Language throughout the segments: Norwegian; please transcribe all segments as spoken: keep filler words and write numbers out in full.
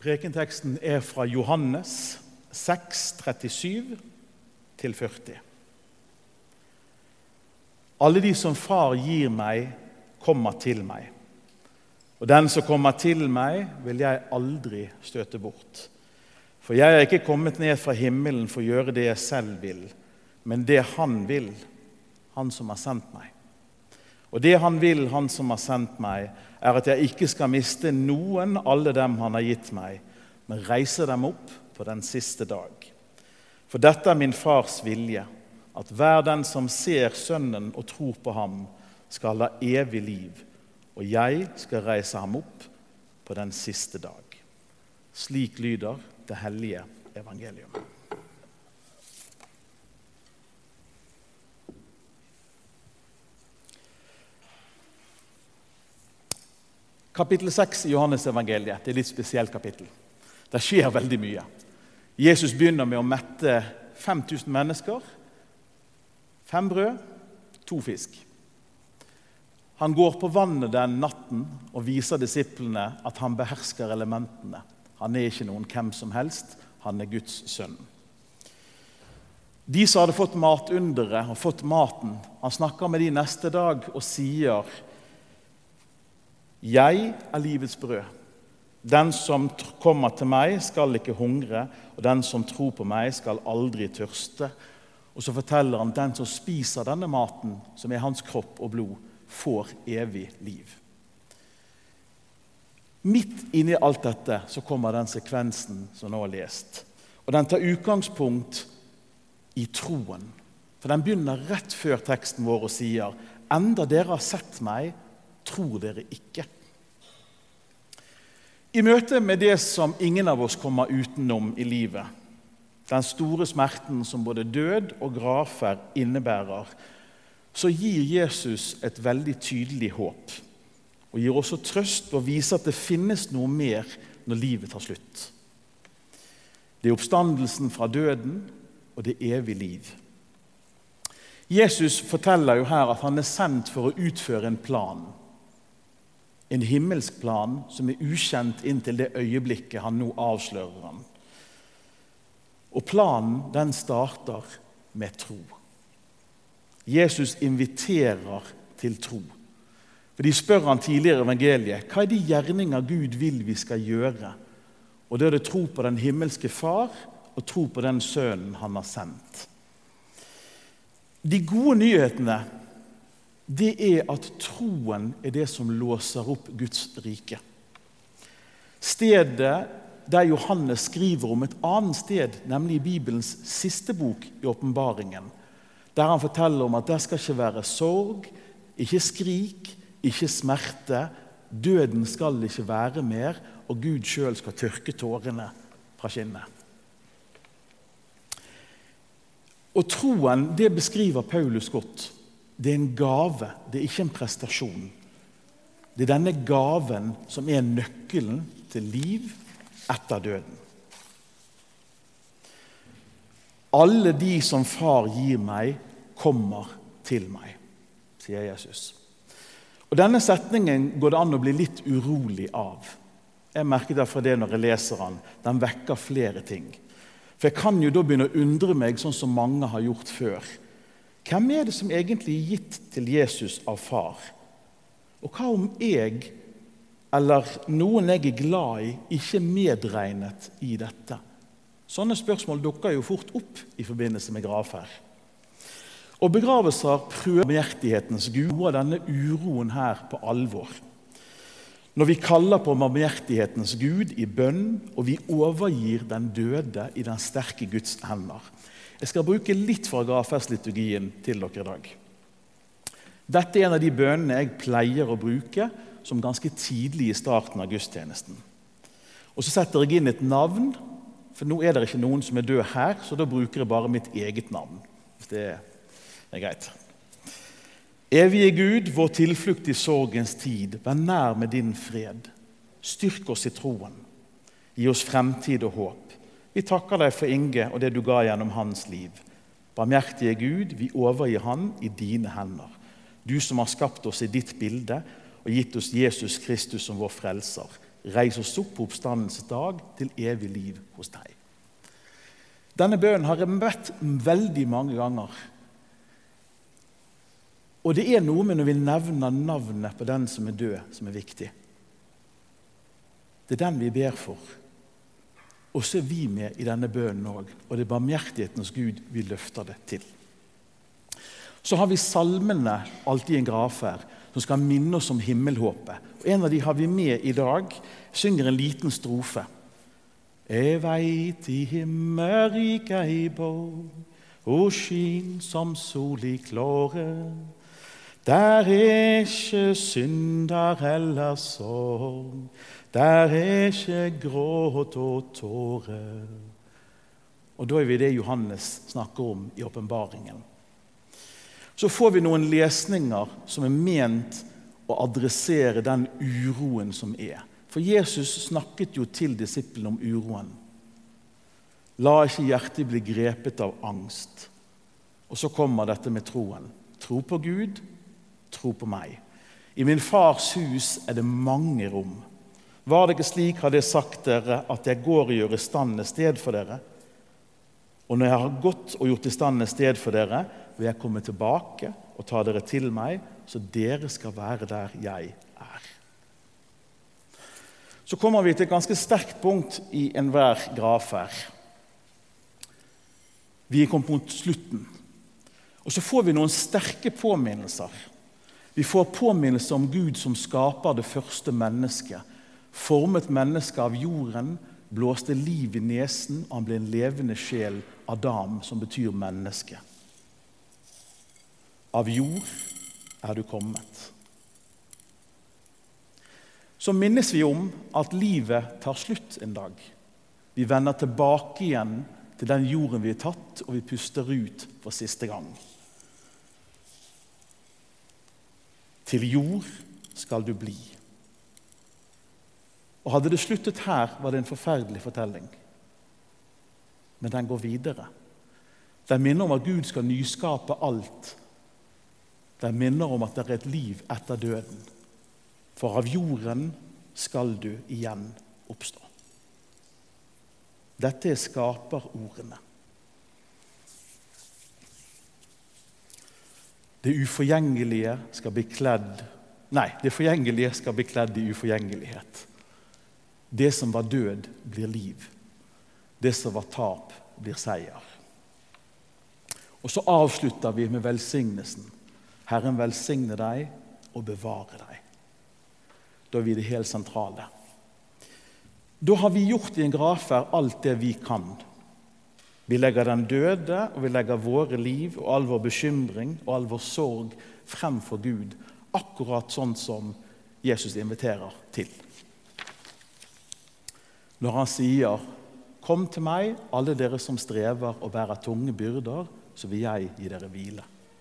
Prekenteksten er fra Johannes seks, trettisju til førti. Alle de som far gir meg, kommer til meg. Og den som kommer til meg, vil jeg aldri støte bort. For jeg er ikke kommet ned fra himmelen for å gjøre det jeg selv vil, men det han vil, han som har sendt meg. Og det han vil, han som har sendt meg, er at jeg ikke skal miste noen alle dem han har gitt meg, men reise dem opp på den siste dag. For dette er min fars vilje, at hver den som ser sønnen og tror på ham, skal ha evig liv, og jeg skal reise ham opp på den siste dag. Slik lyder det hellige evangelium. Kapittel seks i Johannes evangeliet, det er et litt spesielt kapittel. Det skjer veldig mye. Jesus begynner med å mette fem tusen mennesker, fem brød, to fisk. Han går på vannet den natten og viser disiplene at han behersker elementene. Han er ikke noen hvem som helst, han er Guds sønn. De som hadde fått matundere og fått maten, han snakker med de neste dag og sier: «Jeg er livets brød. Den som kommer til meg skal ikke hungre, og den som tror på meg skal aldri tørste.» Og så forteller han at den som spiser denne maten, som er hans kropp og blod, får evig liv. Midt inne i alt dette så kommer den sekvensen som nå er lest. Og den tar utgangspunkt i troen. For den begynner rett før teksten vår og sier: «Enda dere har sett meg, tror dere ikke.» I møte med det som ingen av oss kommer utenom i livet, den store smerten som både død og gravferd innebærer, så gir Jesus et veldig tydelig håp, og gir også trøst og viser at det finnes noe mer når livet tar slutt. Det er oppstandelsen fra døden, og det er evig liv. Jesus forteller jo her at han er sendt for å utføre en plan, en himmelsk plan som er ukjent inntil det øyeblikket han nå avslører ham. Og planen, den starter med tro. Jesus inviterer til tro. For de spør han tidligere i evangeliet: «Hva er de gjerninger Gud vil vi skal gjøre?» Og det er det tro på den himmelske far og tro på den sønnen han har sendt. De gode nyhetene, det er at troen er det som låser opp Guds rike. Stedet der Johannes skriver om et annet sted, nemlig i Bibelens siste bok i Åpenbaringen, der han forteller om at det skal ikke være sorg, ikke skrik, ikke smerte, døden skal ikke være mer, og Gud selv skal tørke tårene fra kinnet. Og troen, det beskriver Paulus godt. Det er en gave, det er ikke en prestasjon. Det er denne gaven som er nøkkelen til liv etter døden. Alle de som far gir meg, kommer til meg, sier Jesus. Og denne setningen går det an å bli litt urolig av. Jeg merker derfor det når jeg leser den. Den vekker flere ting. For jeg kan jo da begynne å undre meg sånn som mange har gjort før. Hvem er det som egentlig er gitt til Jesus av far? Og hva om jeg, eller noen jeg er glad i, ikke medregnet i dette? Sånne spørsmål dukker jo fort opp i forbindelse med gravferd. Og begravelser prøver barmhjertighetens Gud, noe av denne uroen her på alvor. Når vi kaller på barmhjertighetens Gud i bønn, og vi overgir den døde i den sterke Guds hender. Jeg skal bruke litt fra gravferdsliturgien til dere i dag. Dette er en av de bønnene jeg pleier å bruke som ganske tidlig i starten av gudstjenesten. Og så setter jeg inn et navn, for nå er det ikke noen som er død her, så da bruker jeg bare mitt eget navn, hvis det er greit. Evige Gud, vår tilflukt i sorgens tid, vær nær med din fred. Styrk oss i troen. Gi oss fremtid og håp. Vi takker deg for Inge og det du ga gjennom hans liv. Barmhjertige Gud, vi overgir han i dine hender. Du som har skapt oss i ditt bilde og gitt oss Jesus Kristus som vår frelser. reis oss opp på oppstandelsens dag til evig liv hos deg. Denne bønnen har jeg bedt veldig mange ganger. Og det er noe med når vi nevner navnet på den som er død, som er viktig. Det er den vi ber for. Og så er vi med i denne bønnen også, og det er barmhjertighetens Gud vi løfter det til. Så har vi salmene alltid i en gravferd, som skal minne oss om himmelhåpet. Og en av de har vi med i dag, synger en liten strofe. Jeg vet i himmelrik ei bor, og skin som sol i klåre. Der er ikke synder eller sorg, der er ikke gråt og tårer. Og da er vi det Johannes snakker om i åpenbaringen. Så får vi noen lesninger som er ment å adressere den uroen som er. For Jesus snakket jo til disiplene om uroen. La ikke hjertet bli grepet av angst. Og så kommer dette med troen. Tro på Gud, tro på meg. I min fars hus er det mange rom. Var det ikke slik, hadde jeg sagt dere, at jeg går og gjør i stand et sted for dere? Og når jeg har gått og gjort i stand et sted for dere, vil jeg komme tilbake og ta dere til meg, så dere skal være der jeg er. Så kommer vi til et ganske sterkt punkt i enhver gravferd. Vi er kommet mot slutten. Og så får vi noen sterke påminnelser. Vi får påminnelser om Gud som skaper det første mennesket, formet mennesket av jorden, blåste liv i nesen, og han ble en levende sjel, Adam, som betyr menneske. Av jord er du kommet. Så minnes vi om at livet tar slutt en dag. Vi vender tilbake igjen til den jorden vi har tatt, og vi puster ut for siste gang. Til jord skal du bli. Og hadde det sluttet her, var det en forferdelig fortelling. Men den går videre. Den minner om at Gud skal nyskape alt. Den minner om at det er et liv etter døden. For av jorden skal du igjen oppstå. Dette er skaperordene. Det uforgjengelige skal bli kledd, nei, det forgjengelige skal bli kledd i uforgjengelighet. Det som var død blir liv. Det som var tap blir seier. Og så avslutter vi med velsignelsen. Herren velsigne deg og bevare deg. Da er vi det helt sentrale. Da har vi gjort i en gravferd alt det vi kan. Vi legger den døde, og vi legger våre liv og all vår bekymring og all vår sorg frem for Gud, akkurat sånn som Jesus inviterer til. Når han sier, kom til meg, alle dere som strever og bærer tunge byrder, så vil jeg gi dere hvile.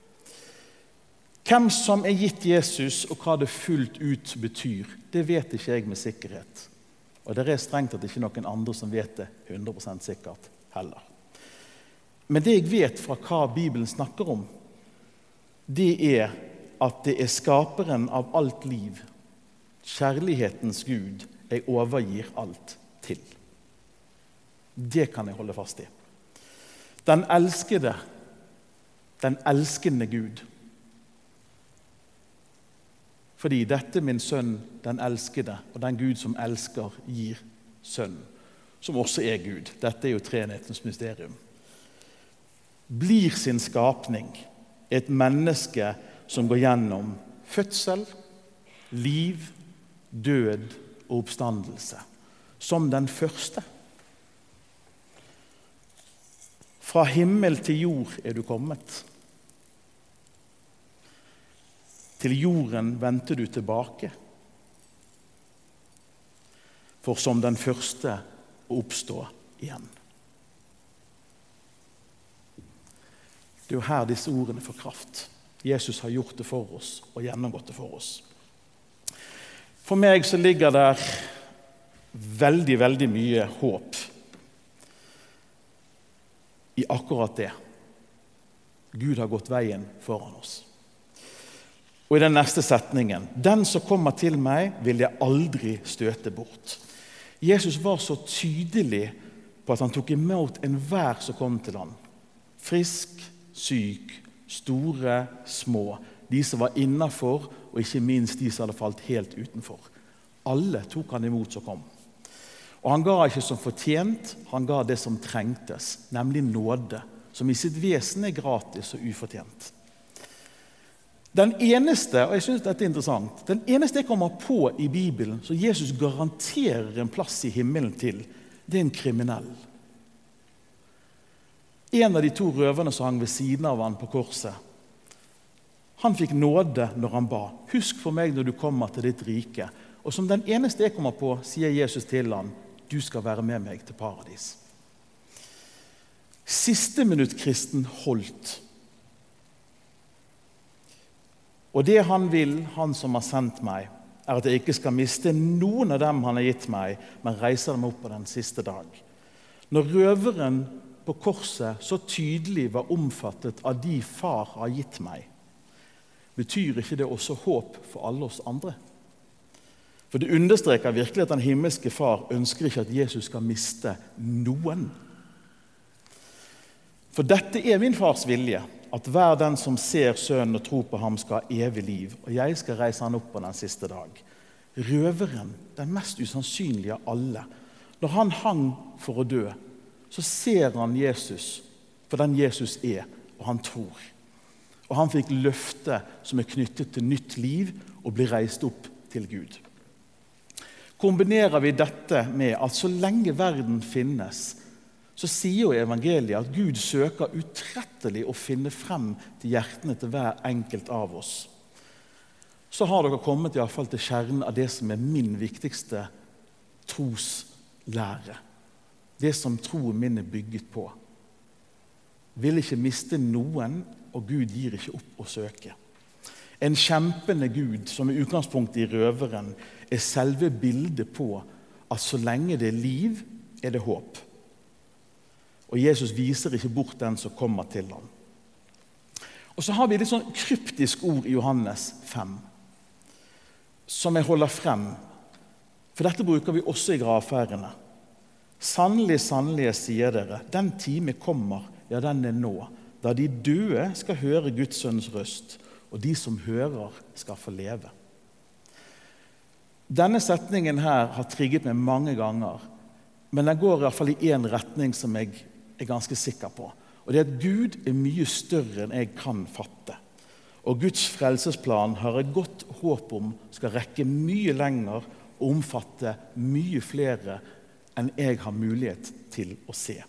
Hvem som er gitt Jesus, og hva det fullt ut betyr, det vet ikke jeg med sikkerhet. Og det er strengt at det ikke er noen andre som vet det hundre prosent sikkert heller. Men det jeg vet fra hva Bibelen snakker om, det er at det er skaperen av alt liv, kjærlighetens Gud, jeg overgir alt til. Det kan jeg holde fast i. Den elskede, den elskende Gud. Fordi dette min sønn, den elskede, og den Gud som elsker, gir sønn, som også er Gud. Dette er jo treenighetens mysterium. Blir sin skapning et menneske som går gjennom fødsel, liv, død og oppstandelse, som den første. Fra himmel til jord er du kommet. Til jorden venter du tilbake. For som den første å oppstå igjen. Det er jo her disse ordene får kraft. Jesus har gjort det for oss og gjennomgått det for oss. For meg så ligger der veldig, veldig mye håp i akkurat det. Gud har gått veien foran oss. Og i den neste setningen, den som kommer til meg, vil jeg aldri støte bort. Jesus var så tydelig på at han tok imot enhver som kom til han. Frisk, syk, store, små. De som var innenfor, og ikke minst de som hadde falt helt utenfor. Alle tok han imot som kom. Og han ga ikke som fortjent, han ga det som trengtes, nemlig nåde, som i sitt vesen er gratis og ufortjent. Den eneste, og jeg synes dette er interessant, den eneste jeg kommer på i Bibelen, så Jesus garanterer en plass i himmelen til, det er en kriminell. En av de to røverne som hang ved siden av han på korset, han fikk nåde når han ba. Husk for meg når du kommer til ditt rike. Og som den eneste jeg kommer på, sier Jesus til han, du skal være med meg til paradis. Siste minutt kristen holdt. Og det han vil, han som har sendt meg, er at jeg ikke skal miste noen av dem han har gitt meg, men reiser dem opp på den siste dag. Når røveren på korset så tydelig var omfattet av de far har gitt meg, betyr ikke det også håp for alle oss andre? For det understreker virkelig at den himmelske far ønsker ikke at Jesus skal miste noen. For dette er min fars vilje, at hver den som ser sønnen og tror på ham skal ha evig liv, og jeg skal reise han opp på den siste dag. Røveren, den mest usannsynlige av alle, når han hang for å dø, så ser han Jesus for den Jesus er, og han tror. Og han fikk løfte som er knyttet til nytt liv og blir reist opp til Gud. Kombinerer vi dette med at så lenge verden finnes, så sier jo evangeliet at Gud søker utrettelig å finne frem til hjertene til hver enkelt av oss. Så har dere kommet i hvert fall til kjernen av det som er min viktigste troslære. Det som troen min er bygget på. Vil ikke miste noen, og Gud gir ikke opp å søke. En kjempende Gud, som i utgangspunktet i røveren, er selve bildet på at så lenge det er liv, er det håp. Og Jesus viser ikke bort den som kommer til ham. Og så har vi litt sånn kryptisk ord i Johannes fem, som jeg holder frem. For dette bruker vi også i gravferdene. Sannelig, sannelig, sier dere, den time kommer, ja, den er nå, da de døde skal høre Guds sønns røst, og de som hører skal få leve. Denne setningen her har trigget meg mange ganger, men den går i hvert fall i en retning som jeg er ganske sikker på. Og det er at Gud er mye større enn jeg kan fatte. Og Guds frelsesplan har et godt håp om skal rekke mye lenger og omfatte mye flere enn jeg har mulighet til å se.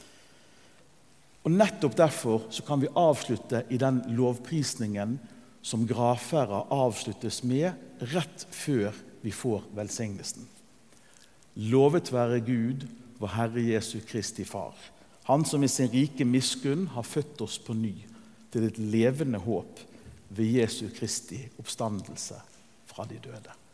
Og nettopp derfor så kan vi avslutte i den lovprisningen som gravferder avsluttes med rett før vi får velsignelsen. Lovet være Gud, vår Herre Jesu Kristi Far. Han som i sin rike miskunn har født oss på ny til et levende håp ved Jesu Kristi oppstandelse fra de døde.